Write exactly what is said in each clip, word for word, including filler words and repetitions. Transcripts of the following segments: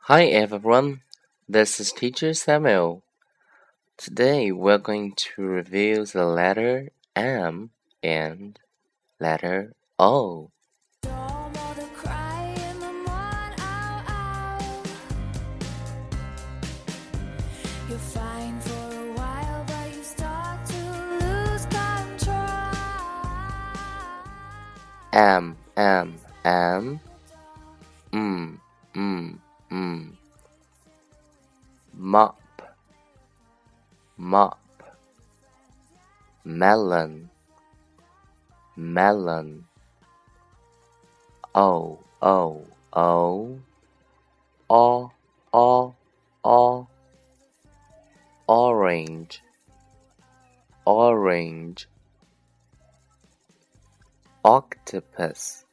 Hi everyone, this is Teacher Samuel. Today we're going to review the letter M and letter O. M, M, M, mm, mm, mm. Mop, mop. Melon, melon. O, O, O. O, O, O. Orange, orange. Octopus,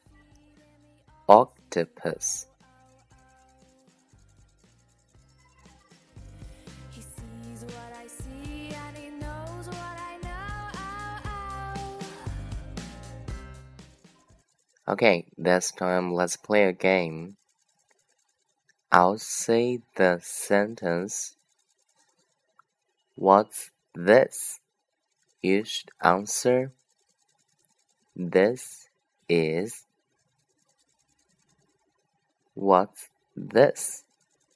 octopus. He sees what I see and he knows what I know. Ow, ow. Okay, this time let's play a game. I'll say the sentence. What's this? You should answer. This is. What's this?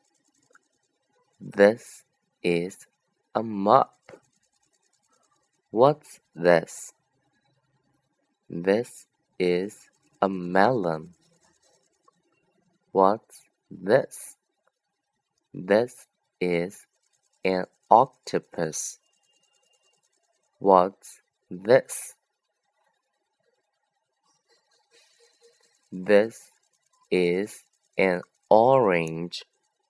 This is a mop. What's this? This is a melon. What's this? This is an octopus. What's this? This is an orange.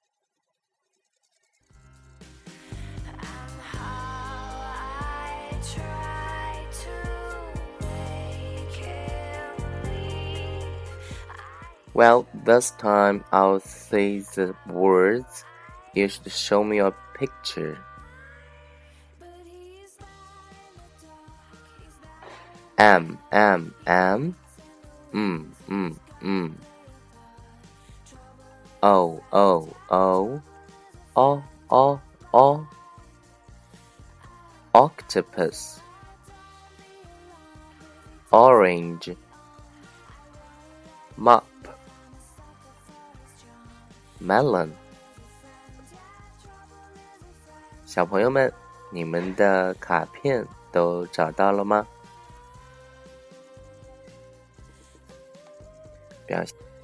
And how I try to make him leave. Well, this time I'll say the words. You should show me a picture. M, M, M. Mm, mm, mm. O, O, O. O, O, O. Octopus. Orange. Mop. Melon. 小朋友们，你们的卡片都找到了吗？表现